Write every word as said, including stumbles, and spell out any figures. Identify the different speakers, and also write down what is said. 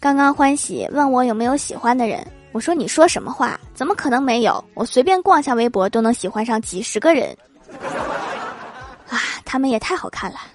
Speaker 1: 刚刚欢喜问我有没有喜欢的人，我说你说什么话？怎么可能没有？我随便逛下微博都能喜欢上几十个人。啊，他们也太好看了。